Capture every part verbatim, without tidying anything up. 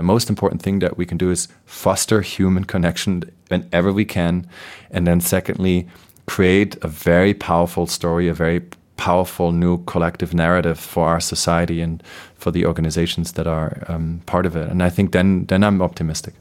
most important thing that we can do is foster human connection whenever we can. And then secondly, create a very powerful story, a very powerful new collective narrative for our society and for the organizations that are um, part of it. And I think then then I'm optimistic.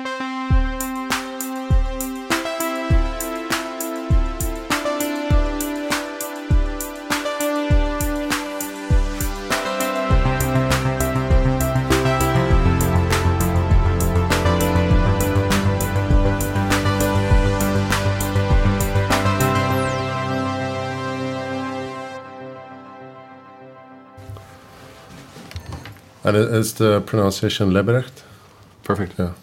And is the pronunciation Lebrecht? Perfect. Yeah.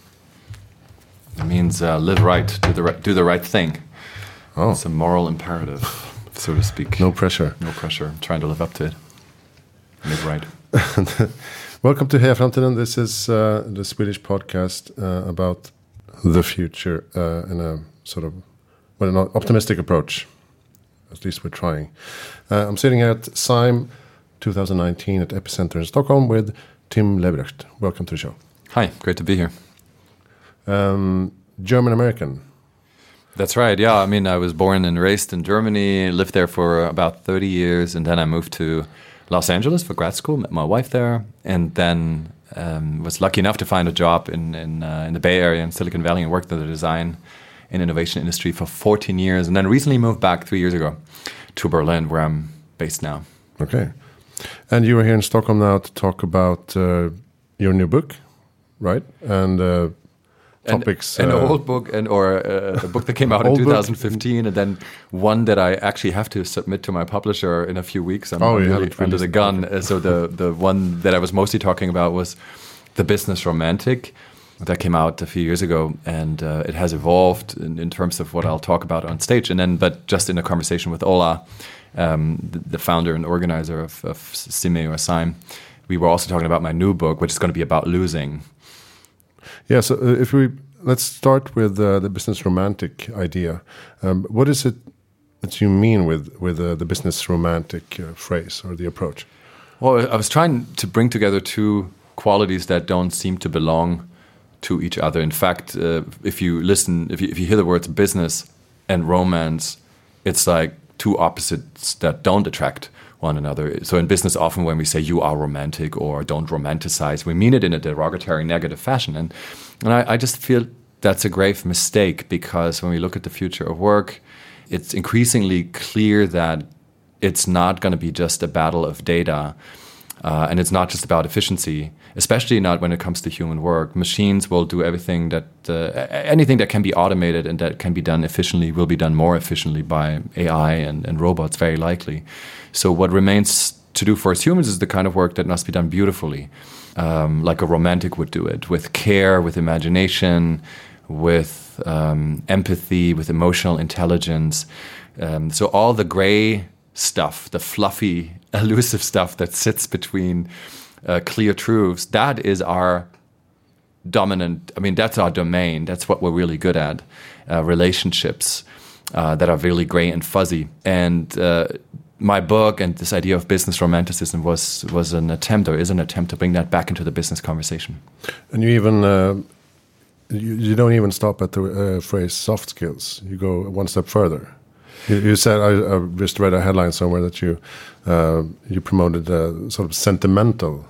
It means uh, live right, do the right, do the right thing. Oh. It's a moral imperative, so to speak. No pressure. No pressure. I'm trying to live up to it. Live right. Welcome to Heja Framtiden. This is uh, the Swedish podcast uh, about the future uh, in a sort of, well, an optimistic approach. At least we're trying. Uh, I'm sitting here at S I M twenty nineteen at Epicenter in Stockholm with Tim Lebrecht. Welcome to the show. Hi, great to be here. Um, German-American. That's right, yeah. I mean, I was born and raised in Germany, lived there for about thirty years, and then I moved to Los Angeles for grad school, met my wife there, and then um, was lucky enough to find a job in in, uh, in the Bay Area in Silicon Valley and worked in the design and innovation industry for fourteen years, and then recently moved back three years ago to Berlin, where I'm based now. Okay. And you are here in Stockholm now to talk about uh, your new book, right? And uh, topics. An, an uh, old book, and or uh, a book that came out in twenty fifteen, and then one that I actually have to submit to my publisher in a few weeks. I'm oh, really yeah, under the gun. Uh, so the the one that I was mostly talking about was The Business Romantic. That came out a few years ago, and uh, it has evolved in, in terms of what I'll talk about on stage. And then, but just in a conversation with Ola, um, the, the founder and organizer of, of Sime or S I M, we were also talking about my new book, which is going to be about losing. Yeah. So uh, if we let's start with uh, the business romantic idea. Um, what is it that you mean with with uh, the business romantic uh, phrase or the approach? Well, I was trying to bring together two qualities that don't seem to belong to each other. In fact, uh, if you listen, if you, if you hear the words business and romance, it's like two opposites that don't attract one another. So in business, often when we say you are romantic or don't romanticize, we mean it in a derogatory, negative fashion. And, and I, I just feel that's a grave mistake, because when we look at the future of work, it's increasingly clear that it's not going to be just a battle of data. Uh, and it's not just about efficiency, especially not when it comes to human work. Machines will do everything that, uh, anything that can be automated and that can be done efficiently will be done more efficiently by A I and, and robots, very likely. So what remains to do for us humans is the kind of work that must be done beautifully, um, like a romantic would do it, with care, with imagination, with um, empathy, with emotional intelligence. Um, so all the gray stuff, the fluffy, elusive stuff that sits between uh, clear truths, that is our dominant, I mean, that's our domain. That's what we're really good at, uh, relationships uh, that are really gray and fuzzy. And uh, my book and this idea of business romanticism was was an attempt, or is an attempt, to bring that back into the business conversation. And you even, uh, you, you don't even stop at the uh, phrase soft skills. You go one step further. You, you said, I, I just read a headline somewhere that you uh, you promoted uh, sort of sentimental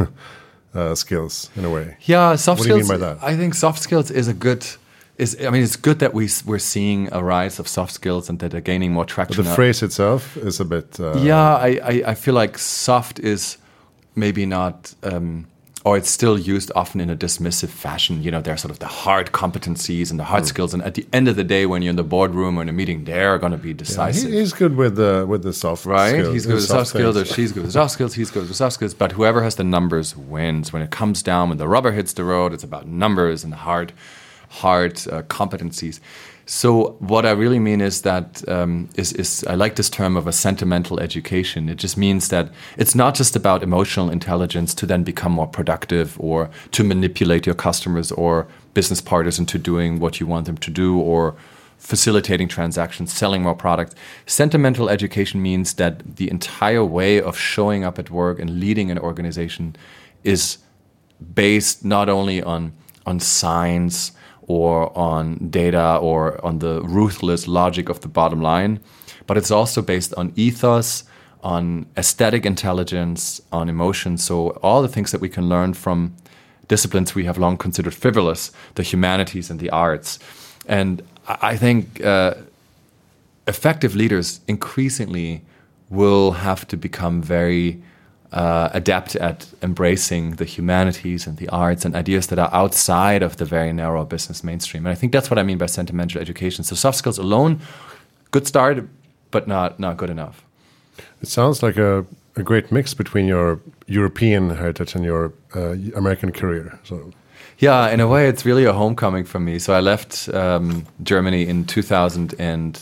uh, skills in a way. Yeah, soft what skills. What do you mean by that? I think soft skills is a good. Is I mean, it's good that we we're seeing a rise of soft skills and that they're gaining more traction. But the phrase itself is a bit. Uh, yeah, I, I I feel like soft is maybe not. Um, Or it's still used often in a dismissive fashion. You know, there are sort of the hard competencies and the hard mm. skills. And at the end of the day, when you're in the boardroom or in a meeting, they're going to be decisive. Yeah, he, he's good with the with the soft right? skills. Right? He's good with the soft skills, or she's good with the soft skills, he's good with the soft skills. But whoever has the numbers wins. When it comes down, when the rubber hits the road, it's about numbers and the hard, hard uh, competencies. So what I really mean is that um, is, is I like this term of a sentimental education. It just means that it's not just about emotional intelligence to then become more productive or to manipulate your customers or business partners into doing what you want them to do, or facilitating transactions, selling more products. Sentimental education means that the entire way of showing up at work and leading an organization is based not only on on science or on data or on the ruthless logic of the bottom line, but it's also based on ethos, on aesthetic intelligence, on emotion. So all the things that we can learn from disciplines we have long considered frivolous, the humanities and the arts. And I think uh, effective leaders increasingly will have to become very uh, adept at embracing the humanities and the arts and ideas that are outside of the very narrow business mainstream. And I think that's what I mean by sentimental education. So soft skills alone, good start, but not not good enough. It sounds like a, a great mix between your European heritage and your uh, American career. So, yeah, in a way, it's really a homecoming for me. So I left um, Germany in two thousand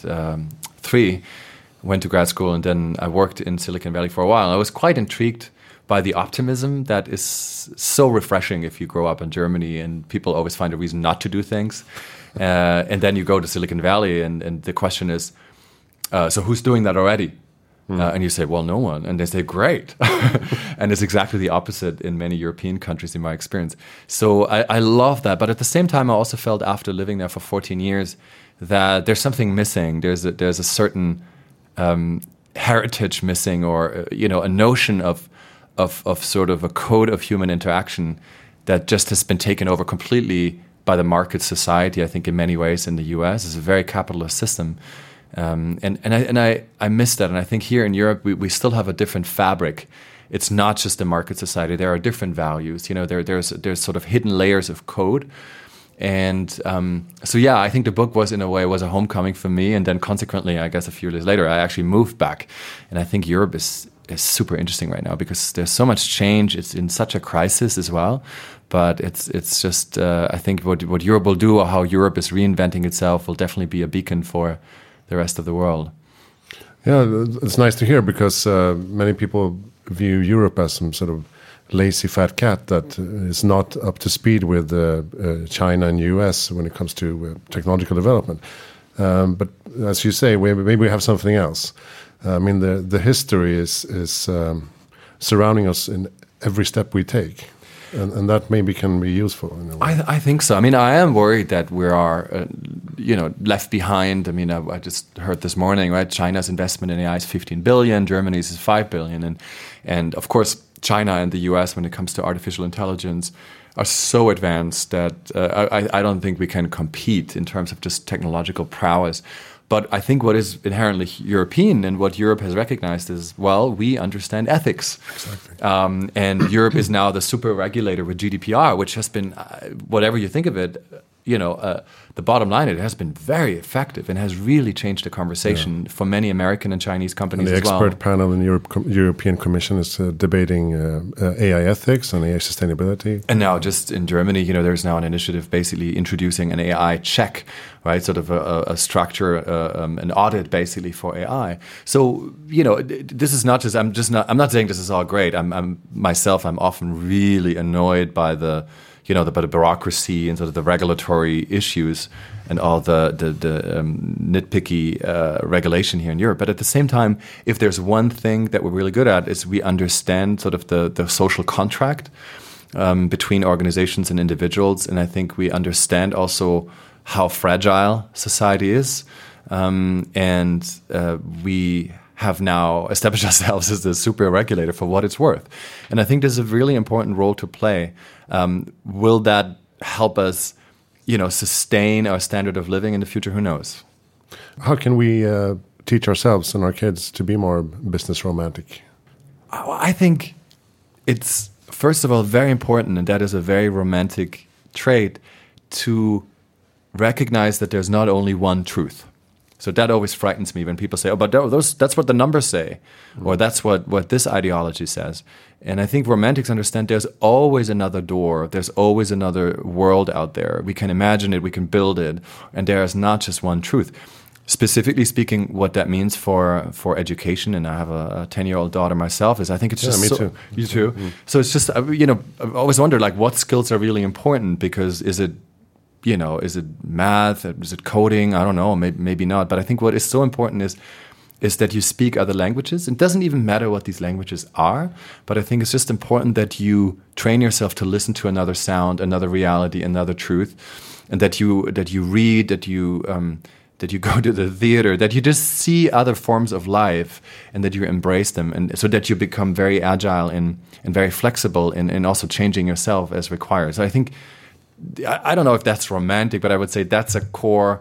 three, went to grad school, and then I worked in Silicon Valley for a while. I was quite intrigued by the optimism that is so refreshing if you grow up in Germany and people always find a reason not to do things. Uh, and then you go to Silicon Valley and, and the question is, uh, so who's doing that already? Mm. Uh, and you say, well, no one. And they say, great. And it's exactly the opposite in many European countries in my experience. So I, I love that. But at the same time, I also felt after living there for fourteen years that there's something missing. There's a, there's a certain um, heritage missing, or, uh, you know, a notion of, of, of sort of a code of human interaction that just has been taken over completely by the market society, I think, in many ways in the U S. It's a very capitalist system. Um, and and I and I, I miss that, and I think here in Europe we, we still have a different fabric. It's not just a market society. There are different values. You know, there there's there's sort of hidden layers of code, and um, so yeah, I think the book was in a way was a homecoming for me. And then consequently, I guess a few years later, I actually moved back, and I think Europe is is super interesting right now because there's so much change. It's in such a crisis as well, but it's it's just uh, I think what what Europe will do, or how Europe is reinventing itself, will definitely be a beacon for the rest of the world. Yeah, it's nice to hear because uh, many people view Europe as some sort of lazy fat cat that is not up to speed with uh, uh, China and U S when it comes to uh, technological development. Um, but as you say, we, maybe we have something else. Uh, I mean, the the history is is um, surrounding us in every step we take. And, and that maybe can be useful in a way. I, I think so. I mean, I am worried that we are, uh, you know, left behind. I mean, I, I just heard this morning, right? China's investment in A I is fifteen billion, Germany's is five billion, and and of course, China and the U S, when it comes to artificial intelligence, are so advanced that uh, I, I don't think we can compete in terms of just technological prowess. But I think what is inherently European and what Europe has recognized is, well, we understand ethics. Exactly. Um, and Europe is now the super regulator with G D P R, which has been, uh, whatever you think of it, you know, uh, the bottom line, it has been very effective and has really changed the conversation yeah. for many American and Chinese companies and the as well. The expert panel in the Europe, European Commission is uh, debating uh, uh, A I ethics and A I sustainability. And now just in Germany, you know, there's now an initiative basically introducing an A I check, right? Sort of a, a structure, uh, um, an audit basically for A I. So, you know, this is not just, I'm just not, I'm not saying this is all great. I'm, I'm myself, I'm often really annoyed by the, you know, the, by the bureaucracy and sort of the regulatory issues and all the the, the um, nitpicky uh, regulation here in Europe. But at the same time, if there's one thing that we're really good at is we understand sort of the, the social contract um, between organizations and individuals. And I think we understand also how fragile society is. Um, and uh, we have now established ourselves as the super regulator for what it's worth. And I think there's a really important role to play. Um, will that help us, you know, sustain our standard of living in the future? Who knows? How can we uh, teach ourselves and our kids to be more business romantic? I think it's, first of all, very important, and that is a very romantic trait, to recognize that there's not only one truth. So that always frightens me when people say, oh, but those, that's what the numbers say, mm. or that's what, what this ideology says. And I think romantics understand there's always another door. There's always another world out there. We can imagine it, we can build it, and there is not just one truth. Specifically speaking, what that means for, for education, and I have a ten-year-old daughter myself, is I think it's yeah, just me so, too. You too? Mm. So it's just, you know, I've always wondered, like, what skills are really important? Because is it, you know, is it math? Is it coding? I don't know, maybe, maybe not. But I think what is so important is is that you speak other languages. It doesn't even matter what these languages are, but I think it's just important that you train yourself to listen to another sound, another reality, another truth, and that you that you read, that you um, that you go to the theater, that you just see other forms of life, and that you embrace them, and so that you become very agile and and very flexible, and and also changing yourself as required. So I think I, I don't know if that's romantic, but I would say that's a core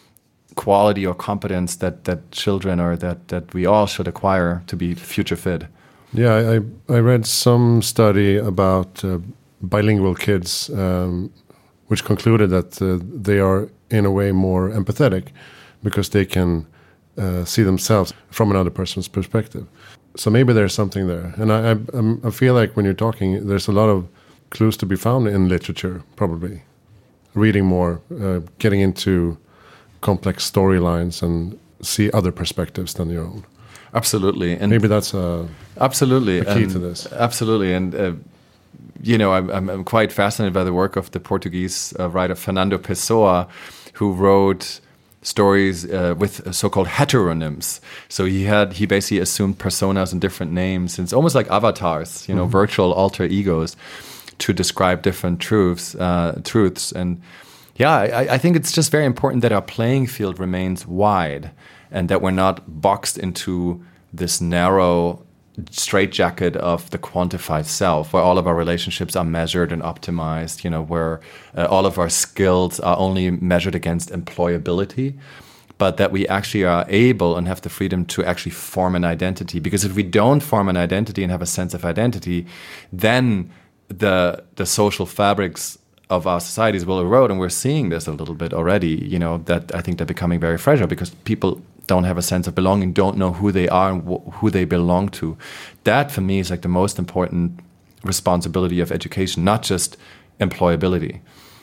quality or competence that that children or that that we all should acquire to be future fit. Yeah, I I read some study about uh, bilingual kids, um, which concluded that uh, they are in a way more empathetic because they can uh, see themselves from another person's perspective. So maybe there's something there, and I I, I'm, I feel like when you're talking, there's a lot of clues to be found in literature. Probably reading more, uh, getting into complex storylines and see other perspectives than your own. Absolutely, and maybe that's a absolutely a key and to this. Absolutely, and uh, you know, I'm, I'm I'm quite fascinated by the work of the Portuguese uh, writer Fernando Pessoa, who wrote stories uh, with so-called heteronyms. So he had he basically assumed personas and different names, and it's almost like avatars, you know, mm-hmm. virtual alter egos, to describe different truths, uh, truths, and. Yeah, I, I think it's just very important that our playing field remains wide and that we're not boxed into this narrow straitjacket of the quantified self, where all of our relationships are measured and optimized, you know, where uh, all of our skills are only measured against employability, but that we actually are able and have the freedom to actually form an identity. Because if we don't form an identity and have a sense of identity, then the the social fabrics of our societies will erode, and we're seeing this a little bit already, you know, that I think they're becoming very fragile because people don't have a sense of belonging, don't know who they are and wh- who they belong to. That, for me, is like the most important responsibility of education, not just employability.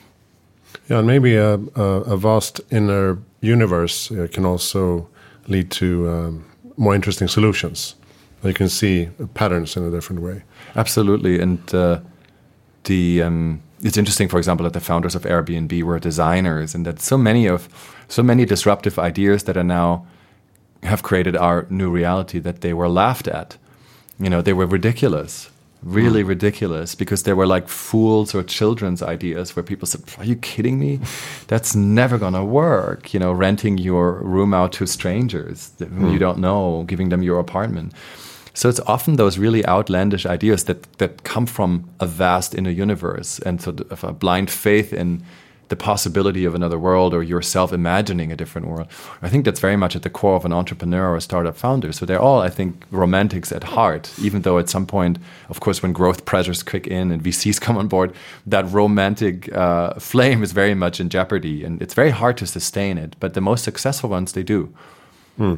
Yeah, and maybe a, a, a vast inner universe uh, can also lead to um, more interesting solutions. You can see patterns in a different way. Absolutely, and uh, the... Um, It's interesting, for example, that the founders of Airbnb were designers, and that so many of so many disruptive ideas that are now have created our new reality, that they were laughed at. You know, they were ridiculous, really mm. ridiculous, because they were like fools or children's ideas where people said, "Are you kidding me? That's never gonna work." You know, renting your room out to strangers whom mm. you don't know, giving them your apartment. So it's often those really outlandish ideas that, that come from a vast inner universe, and so of a blind faith in the possibility of another world or yourself imagining a different world. I think that's very much at the core of an entrepreneur or a startup founder. So they're all, I think, romantics at heart, even though at some point, of course, when growth pressures kick in and V Cs come on board, that romantic uh, flame is very much in jeopardy, and it's very hard to sustain it. But the most successful ones, they do. Hmm.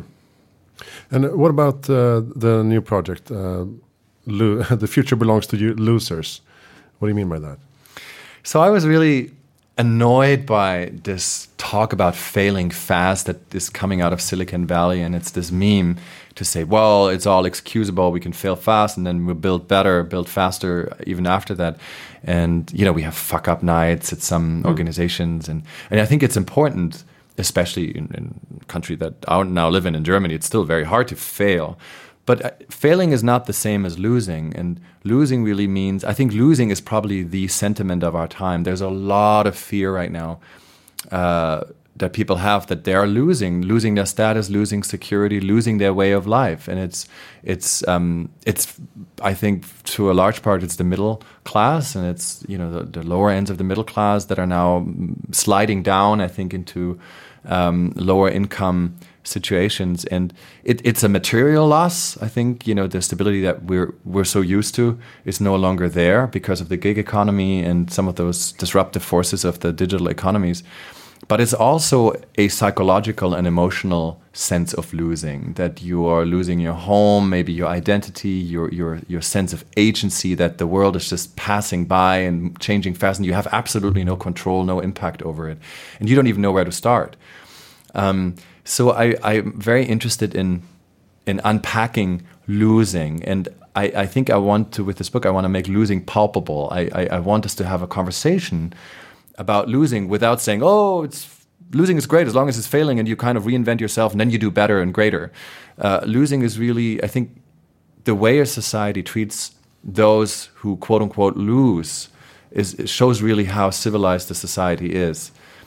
And what about uh, the new project, uh, Lo- The Future Belongs to You, Losers? What do you mean by that? So I was really annoyed by this talk about failing fast that is coming out of Silicon Valley, and it's this meme to say, well, it's all excusable, we can fail fast, and then we'll build better, build faster even after that. And, you know, we have fuck-up nights at some mm. organizations, and, and I think it's important, especially in, in a country that I now live in, in Germany, it's still very hard to fail. But uh, failing is not the same as losing. And losing really means, I think losing is probably the sentiment of our time. There's a lot of fear right now uh, that people have that they are losing, losing their status, losing security, losing their way of life. And it's, it's, um, it's. I think to a large part, it's the middle class, and it's, you know, the, the lower ends of the middle class that are now sliding down, I think, into um, lower income situations. And it, it's a material loss. I think, you know, the stability that we're we're so used to is no longer there because of the gig economy and some of those disruptive forces of the digital economies. But it's also a psychological and emotional sense of losing, that you are losing your home, maybe your identity, your your your sense of agency, that the world is just passing by and changing fast, and you have absolutely no control, no impact over it. And you don't even know where to start. Um, so I, I'm very interested in in unpacking losing. And I, I think I want to, with this book, I want to make losing palpable. I, I, I want us to have a conversation about losing without saying, oh, it's losing is great as long as it's failing and you kind of reinvent yourself and then you do better and greater. Uh, losing is really, I think, the way a society treats those who quote unquote lose is it shows really how civilized the society is.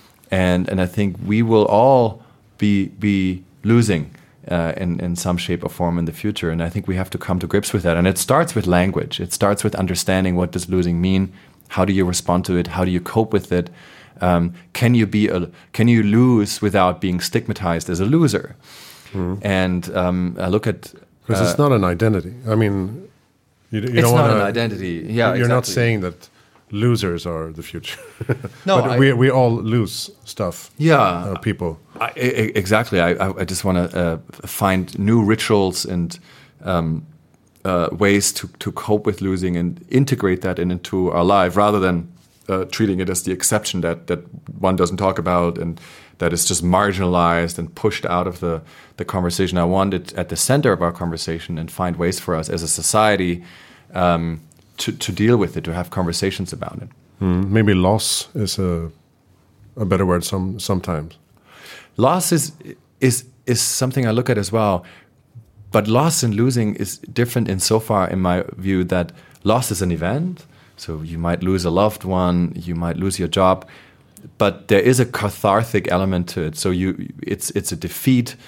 And and I think we will all be be losing uh, in, in some shape or form in the future. And I think we have to come to grips with that. And it starts with language. It starts with understanding what does losing mean? How do you respond to it? How do you cope with it? Um, can you be a, can you lose without being stigmatized as a loser? Mm. And um, I look at because uh, it's not an identity. I mean, you, you it's don't not wanna, an identity. Yeah, you're exactly. not saying that losers are the future. No, but I, we we all lose stuff. Yeah, uh, people. I, I, exactly. I I just want to uh, find new rituals and um, uh, ways to to cope with losing and integrate that in, into our life, rather than uh, treating it as the exception that that one doesn't talk about and that is just marginalized and pushed out of the the conversation. I want it at the center of our conversation and find ways for us as a society. Um, To, to deal with it, to have conversations about it. Mm, maybe loss is a a better word some sometimes. Loss is is is something I look at as well, but loss and losing is different in so far, in my view, that loss is an event. So you might lose a loved one, you might lose your job, but there is a cathartic element to it. So you, it's it's a defeat,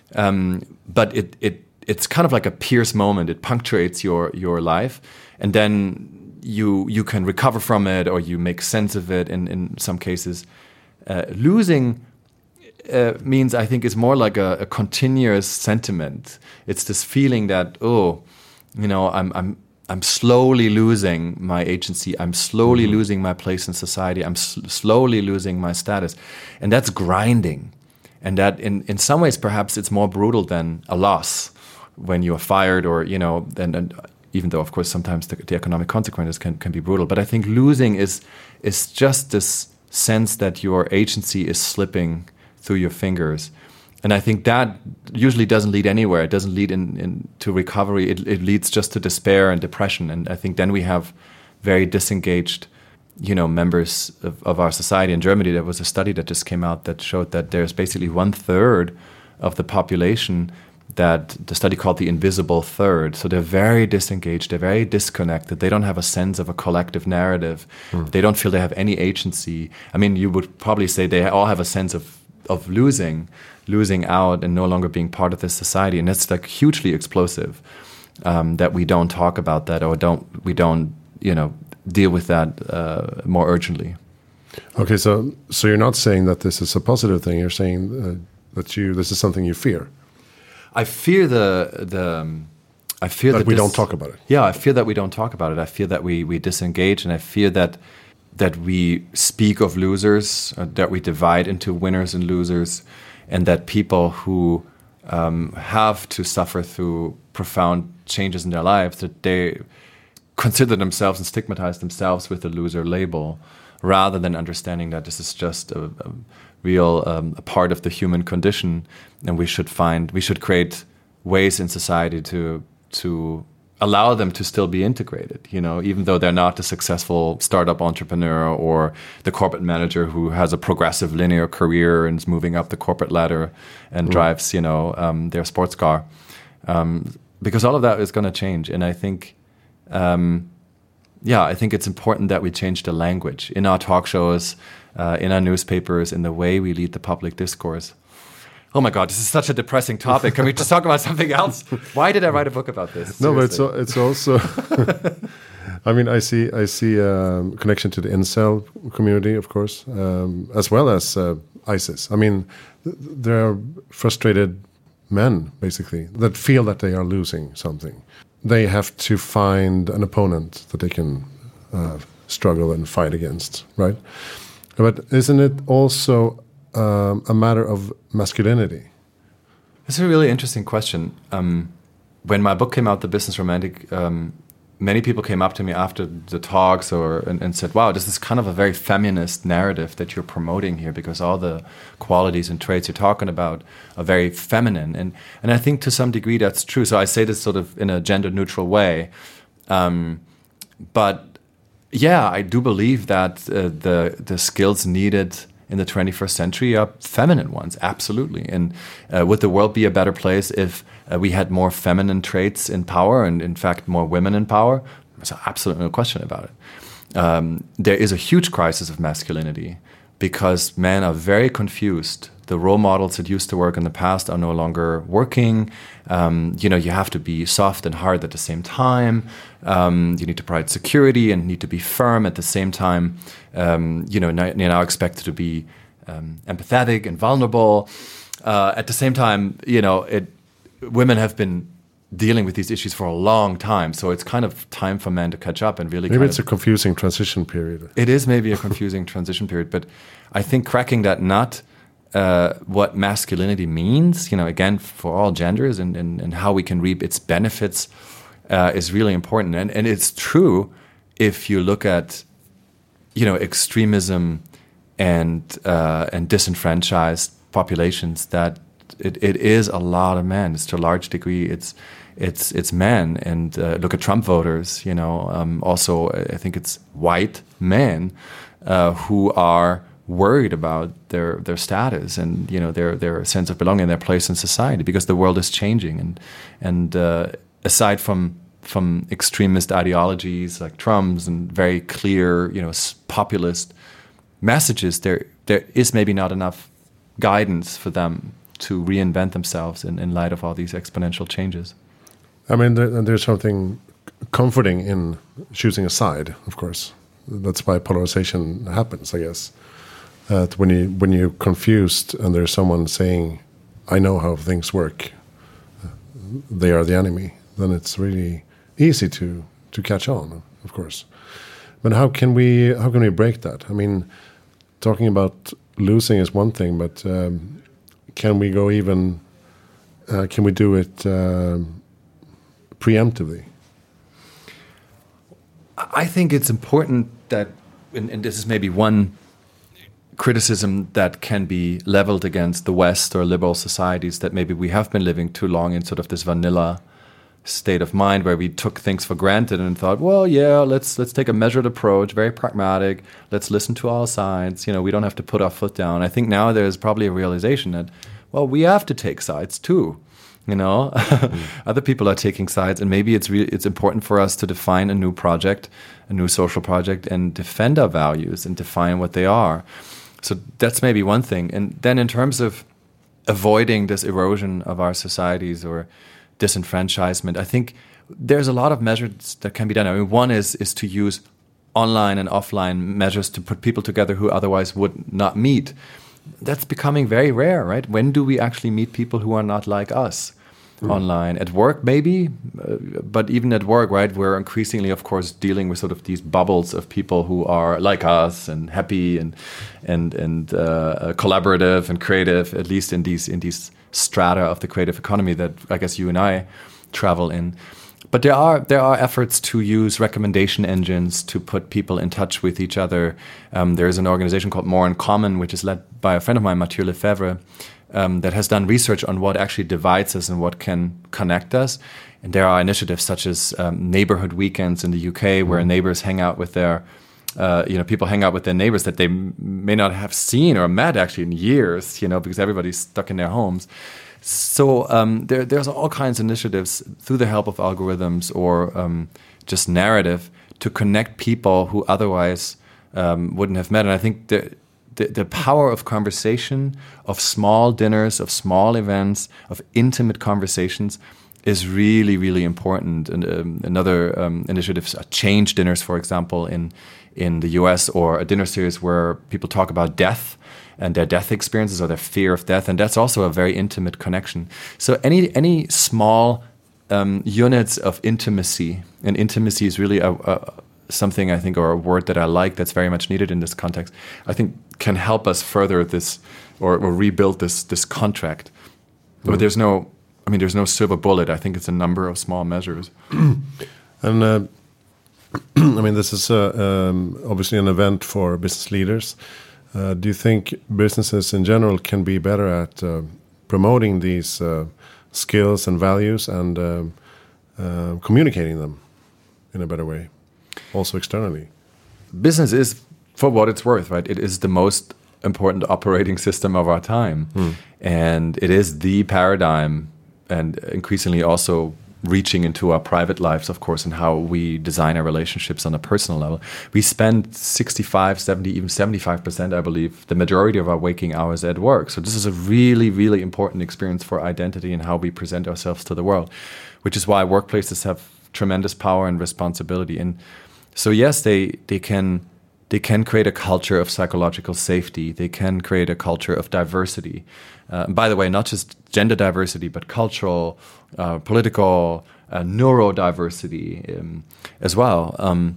um, but it it it's kind of like a pierce moment. It punctuates your your life. And then you you can recover from it, or you make sense of it in, in some cases. Uh, losing uh, means, I think, is more like a, a continuous sentiment. It's this feeling that, oh, you know, I'm I'm I'm slowly losing my agency. I'm slowly mm-hmm. losing my place in society. I'm sl- slowly losing my status. And that's grinding. And that in, in some ways, perhaps it's more brutal than a loss when you're fired or, you know, and, and even though, of course, sometimes the, the economic consequences can, can be brutal. But I think losing is is just this sense that your agency is slipping through your fingers. And I think that usually doesn't lead anywhere. It doesn't lead in, in to recovery. It, it leads just to despair and depression. And I think then we have very disengaged, you know, members of, of our society. In Germany, there was a study that just came out that showed that there's basically one third of the population that the study called the invisible third. So they're very disengaged, they're very disconnected, they don't have a sense of a collective narrative, mm. they don't feel they have any agency. I mean, you would probably say they all have a sense of, of losing, losing out and no longer being part of this society. And that's like hugely explosive, um, that we don't talk about that or don't we don't, you know, deal with that uh, more urgently. Okay, so so you're not saying that this is a positive thing, you're saying uh, that you this is something you fear. I fear the the. Um, I fear that, that we this, don't talk about it. Yeah, I fear that we don't talk about it. I fear that we we disengage, and I fear that that we speak of losers, uh, that we divide into winners and losers, and that people who um, have to suffer through profound changes in their lives, that they consider themselves and stigmatize themselves with the loser label, rather than understanding that this is just a, a real um, a part of the human condition, and we should find we should create ways in society to to allow them to still be integrated. You know, even though they're not a successful startup entrepreneur or the corporate manager who has a progressive linear career and is moving up the corporate ladder and mm. drives, you know, um, their sports car, um, because all of that is going to change. And I think. Um, Yeah, I think it's important that we change the language in our talk shows, uh, in our newspapers, in the way we lead the public discourse. Oh my God, this is such a depressing topic. Can we just talk about something else? Why did I write a book about this? Seriously. No, but it's it's also. I mean, I see I see a connection to the incel community, of course, um, as well as uh, ISIS. I mean, th- there are frustrated men, basically, that feel that they are losing something. They have to find an opponent that they can uh, struggle and fight against, right? But isn't it also um, a matter of masculinity? It's a really interesting question. Um, when my book came out, The Business Romantic, um, many people came up to me after the talks or and, and said, wow, this is kind of a very feminist narrative that you're promoting here, because all the qualities and traits you're talking about are very feminine. And and I think to some degree that's true. So I say this sort of in a gender-neutral way. Um, but yeah, I do believe that uh, the the skills needed in the twenty-first century are feminine ones, absolutely. And uh, would the world be a better place if uh, we had more feminine traits in power and, in fact, more women in power? There's absolutely no question about it. Um, there is a huge crisis of masculinity because men are very confused. The role models that used to work in the past are no longer working. Um, you know, you have to be soft and hard at the same time. Um, you need to provide security and need to be firm at the same time. Um, you know, now, you're now expected to be um, empathetic and vulnerable. Uh, at the same time, you know, it, women have been dealing with these issues for a long time, so it's kind of time for men to catch up and really. Maybe kind it's of, a confusing transition period. It is maybe a confusing transition period, but I think cracking that nut, uh, what masculinity means, you know, again for all genders, and, and, and how we can reap its benefits, uh, is really important. And and it's true if you look at, you know, extremism and uh, and disenfranchised populations, that it, it is a lot of men. It's to a large degree it's it's it's men. And uh, look at Trump voters. You know, um, also I think it's white men uh, who are worried about their their status and, you know, their their sense of belonging, their place in society, because the world is changing. And and uh, aside from from extremist ideologies like Trump's and very clear, you know, populist messages, there there is maybe not enough guidance for them to reinvent themselves in, in light of all these exponential changes. I mean, there, there's something comforting in choosing a side, of course. That's why polarization happens, I guess. Uh, when you when you're confused and there's someone saying, "I know how things work," they are the enemy. Then it's really easy to to catch on, of course. But how can we how can we break that? I mean, talking about losing is one thing, but um, can we go even? Uh, can we do it uh, preemptively? I think it's important that, and, and this is maybe one criticism that can be leveled against the West or liberal societies, that maybe we have been living too long in sort of this vanilla state of mind where we took things for granted and thought, well, yeah, let's let's take a measured approach, very pragmatic. Let's listen to all sides. You know, we don't have to put our foot down. I think now there's probably a realization that, well, we have to take sides too. You know, mm. Other people are taking sides, and maybe it's really it's important for us to define a new project, a new social project, and defend our values and define what they are. So that's maybe one thing. And then in terms of avoiding this erosion of our societies or disenfranchisement, I think there's a lot of measures that can be done. I mean, one is is to use online and offline measures to put people together who otherwise would not meet. That's becoming very rare, right? When do we actually meet people who are not like us? Mm. Online, at work maybe, uh, but even at work, right, we're increasingly, of course, dealing with sort of these bubbles of people who are like us and happy and and and uh, collaborative and creative, at least in these in these strata of the creative economy that I guess you and I travel in. But there are there are efforts to use recommendation engines to put people in touch with each other. Um, there is an organization called More in Common, which is led by a friend of mine, Mathieu Lefebvre, um, that has done research on what actually divides us and what can connect us. And there are initiatives such as um, neighborhood weekends in the U K, where mm. neighbors hang out with their, uh, you know, people hang out with their neighbors that they m- may not have seen or met actually in years, you know, because everybody's stuck in their homes. So um, there, there's all kinds of initiatives through the help of algorithms or um, just narrative to connect people who otherwise um, wouldn't have met. And I think the, the the power of conversation, of small dinners, of small events, of intimate conversations is really, really important. And um, another um, initiatives are change dinners, for example, in in the U S, or a dinner series where people talk about death and their death experiences or their fear of death, and that's also a very intimate connection. So any any small um, units of intimacy, and intimacy is really a, a, something I think, or a word that I like, that's very much needed in this context, I think can help us further this, or, or rebuild this this contract. Mm. But there's no, I mean, there's no silver bullet. I think it's a number of small measures. And uh, I mean, this is uh, um, obviously an event for business leaders. Uh, do you think businesses in general can be better at uh, promoting these uh, skills and values and um, uh, communicating them in a better way, also externally? Business is, for what it's worth, right? It is the most important operating system of our time. Mm. And it is the paradigm, and increasingly also reaching into our private lives, of course, and how we design our relationships on a personal level. We spend sixty-five, seventy, even seventy-five percent, I believe, the majority of our waking hours at work. So this is a really, really important experience for identity and how we present ourselves to the world, which is why workplaces have tremendous power and responsibility. And so, yes, they, they can they can create a culture of psychological safety. They can create a culture of diversity. Uh, by the way, not just gender diversity, but cultural, uh, political, uh, neurodiversity um, as well. Um,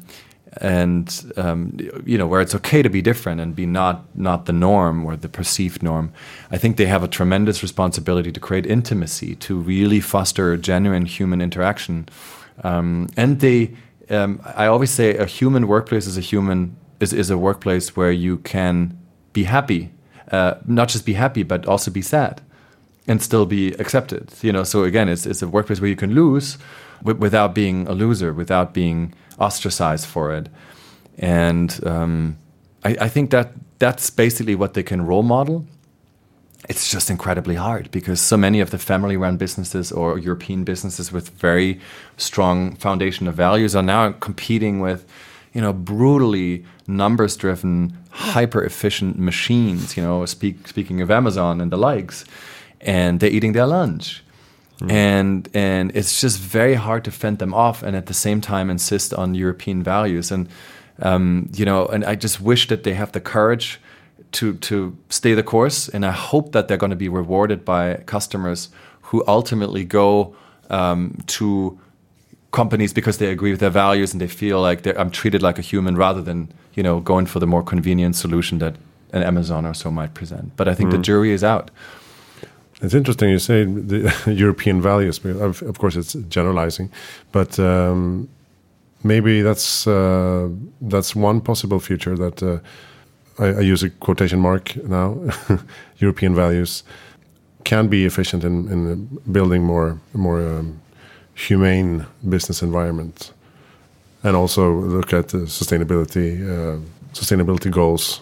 and, um, you know, where it's okay to be different and be not, not the norm or the perceived norm. I think they have a tremendous responsibility to create intimacy, to really foster genuine human interaction. Um, and they, um, I always say a human workplace is a human, is, is a workplace where you can be happy. Uh, not just be happy, but also be sad and still be accepted. You know, so again, it's it's a workplace where you can lose w- without being a loser, without being ostracized for it. And um, I, I think that that's basically what they can role model. It's just incredibly hard because so many of the family-run businesses or European businesses with very strong foundation of values are now competing with, you know, brutally numbers-driven, hyper-efficient machines, you know, speak, speaking of Amazon and the likes, and they're eating their lunch. Mm. And and it's just very hard to fend them off and at the same time insist on European values. And, um, you know, and I just wish that they have the courage to, to stay the course. And I hope that they're going to be rewarded by customers who ultimately go um, to companies because they agree with their values and they feel like I'm treated like a human rather than, you know, going for the more convenient solution that an Amazon or so might present. But I think mm. the jury is out. It's interesting you say the European values. Of, of course, it's generalizing, but um, maybe that's uh, that's one possible future that uh, I, I use a quotation mark now. European values can be efficient in, in building more more. Um, humane business environment, and also look at the sustainability, uh, sustainability goals,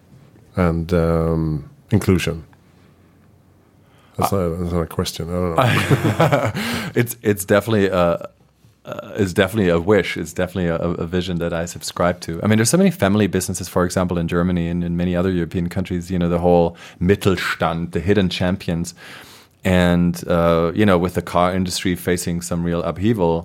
and um, inclusion. That's, uh, not, that's not a question. I don't know. it's it's definitely a uh, it's definitely a wish. It's definitely a, a vision that I subscribe to. I mean, there's so many family businesses, for example, in Germany and in many other European countries. You know, the whole Mittelstand, the hidden champions. And, uh, you know, with the car industry facing some real upheaval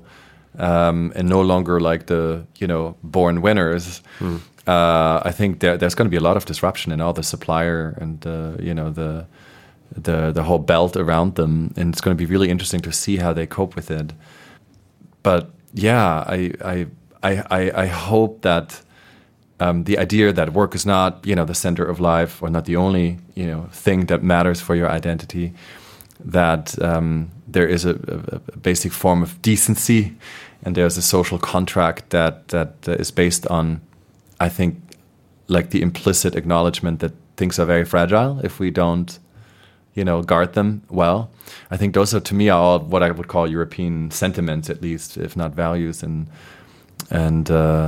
um, and no longer like the, you know, born winners, mm. uh, I think there, there's going to be a lot of disruption in all the supplier and, uh, you know, the, the the whole belt around them. And it's going to be really interesting to see how they cope with it. But, yeah, I I I, I hope that um, the idea that work is not, you know, the center of life or not the only, you know, thing that matters for your identity, that um, there is a, a, a basic form of decency and there's a social contract that that uh, is based on, I think, like the implicit acknowledgement that things are very fragile if we don't, you know, guard them well. I think those are, to me, are all what I would call European sentiments, at least, if not values. And and uh,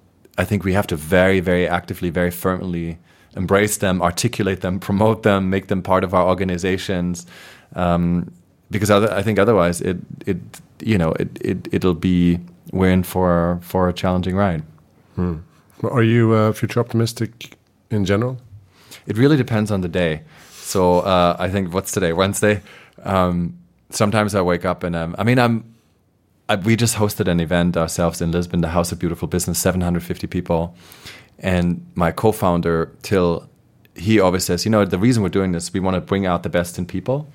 I think we have to very, very actively, very firmly embrace them, articulate them, promote them, make them part of our organizations. Um, because other, I think otherwise it, it you know, it, it, it'll be, we're in for, for a challenging ride. Hmm. Are you uh, future optimistic in general? It really depends on the day. So uh, I think, what's today, Wednesday? Um, sometimes I wake up and um, I mean, I'm, I, we just hosted an event ourselves in Lisbon, the House of Beautiful Business, seven hundred fifty people. And my co-founder, Till, he always says, you know, the reason we're doing this, we want to bring out the best in people.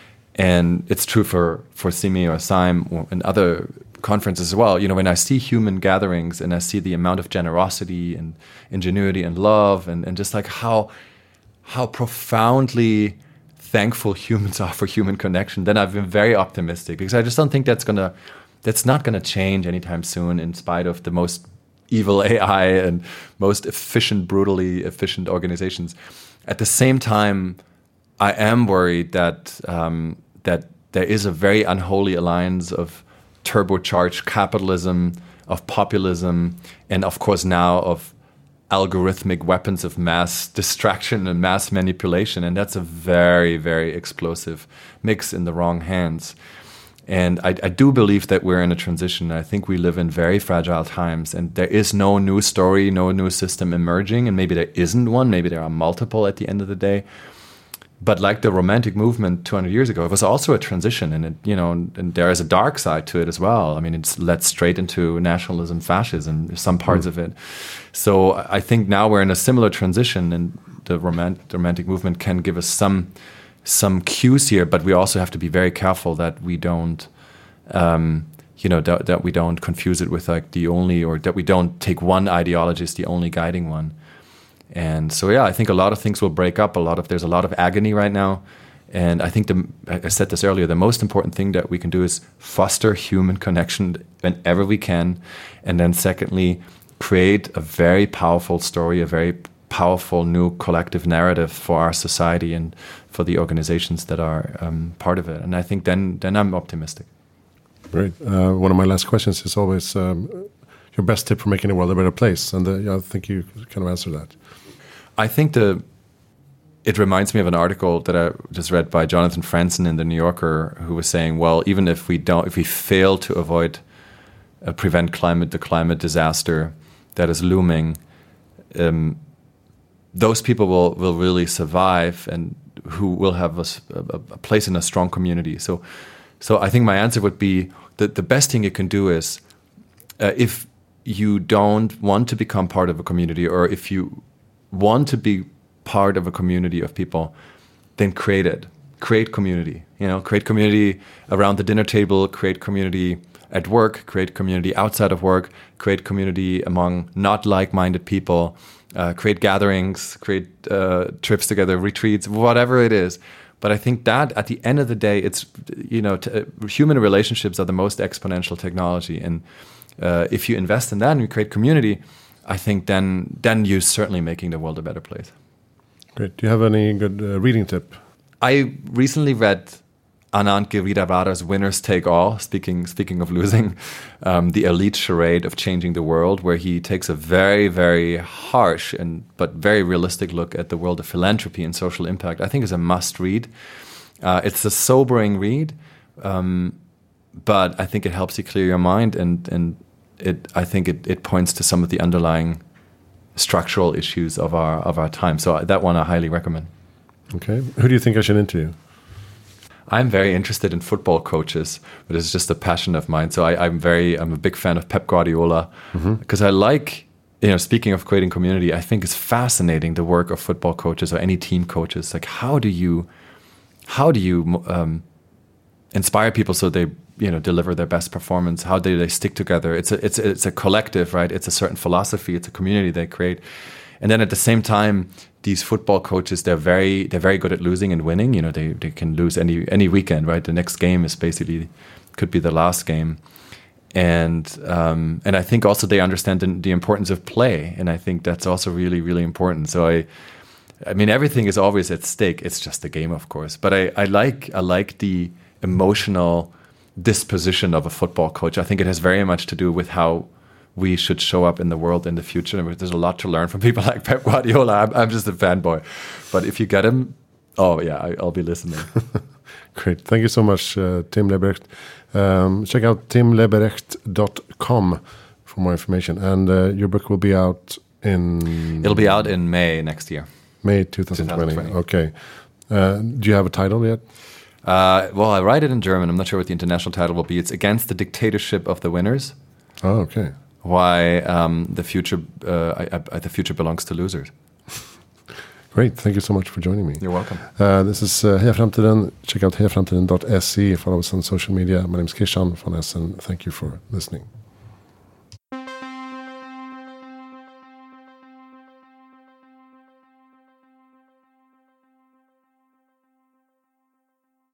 And it's true for, for Simi or Sime and other conferences as well. You know, when I see human gatherings and I see the amount of generosity and ingenuity and love and, and just like how how profoundly thankful humans are for human connection, then I've been very optimistic because I just don't think that's gonna that's not gonna change anytime soon, in spite of the most evil A I and most efficient, brutally efficient organizations. At the same time, I am worried that um, that there is a very unholy alliance of turbocharged capitalism, of populism, and of course now of algorithmic weapons of mass distraction and mass manipulation. And that's a very, very explosive mix in the wrong hands. And I, I do believe that we're in a transition. I think we live in very fragile times, and there is no new story, no new system emerging. And maybe there isn't one. Maybe there are multiple at the end of the day. But like the Romantic movement two hundred years ago, it was also a transition, and it, you know, and, and there is a dark side to it as well. I mean, it's led straight into nationalism, fascism, some parts mm. of it. So I think now we're in a similar transition, and the, romant- the Romantic movement can give us some some cues here, but we also have to be very careful that we don't, um, you know, that, that we don't confuse it with like the only, or that we don't take one ideology as the only guiding one. And so, yeah, I think a lot of things will break up. A lot of there's a lot of agony right now, and I think the I said this earlier. The most important thing that we can do is foster human connection whenever we can, and then secondly, create a very powerful story, a very powerful new collective narrative for our society and for the organizations that are um, part of it. And I think then then I'm optimistic. Great. Uh, one of my last questions is always um, your best tip for making the world a better place, and uh, yeah, I think you kind of answer that. I think the it reminds me of an article that I just read by Jonathan Franzen in the New Yorker, who was saying, well, even if we don't, if we fail to avoid, uh, prevent climate, the climate disaster that is looming, um, those people will, will really survive, and who will have a, a, a place in a strong community. So, so I think my answer would be that the best thing you can do is, uh, if you don't want to become part of a community, or if you want to be part of a community of people, then create it. Create community. You know, create community around the dinner table, create community at work, create community outside of work, create community among not like-minded people, uh, create gatherings, create uh, trips together, retreats, whatever it is. But I think that at the end of the day, it's, you know, t- uh, human relationships are the most exponential technology. And uh, if you invest in that and you create community, I think then then you're certainly making the world a better place. Great. Do you have any good uh, reading tip? I recently read Anand Giridhara's Winners Take All, speaking speaking of losing, um, the elite charade of changing the world, where he takes a very, very harsh and but very realistic look at the world of philanthropy and social impact. I think is a must read. Uh, it's a sobering read, um, but I think it helps you clear your mind, and and It, I think it, it points to some of the underlying structural issues of our of our time. So that one I highly recommend. Okay. Who do you think I should interview? I'm very interested in football coaches, but it's just a passion of mine. So I, I'm very I'm a big fan of Pep Guardiola, because mm-hmm. I like, you know, speaking of creating community, I think it's fascinating the work of football coaches or any team coaches. Like how do you how do you um, inspire people so they, you know, deliver their best performance? How do they stick together? It's a it's a, it's a collective, right? It's a certain philosophy. It's a community they create, and then at the same time, these football coaches, they're very they're very good at losing and winning. You know, they they can lose any any weekend, right? The next game is basically could be the last game, and um, and I think also they understand the, the importance of play, and I think that's also really really important. So I. I mean, everything is always at stake. It's just a game, of course. But I, I like I like the emotional disposition of a football coach. I think it has very much to do with how we should show up in the world in the future. There's a lot to learn from people like Pep Guardiola. I'm, I'm just a fanboy. But if you get him, oh yeah, I, I'll be listening. Great. Thank you so much, uh, Tim Leberecht. Um, check out tim leberecht dot com for more information. And uh, your book will be out in... It'll be out in May next year. May twenty twenty. twenty. Okay. Uh, do you have a title yet? Uh, well, I write it in German. I'm not sure what the international title will be. It's Against the Dictatorship of the Winners. Oh, okay. Why um, the future uh, I, I, the future belongs to losers. Great. Thank you so much for joining me. You're welcome. Uh, this is uh, Heja Framtiden. Check out heja framtiden dot se. Follow us on social media. My name is Kishan von Essen. Thank you for listening.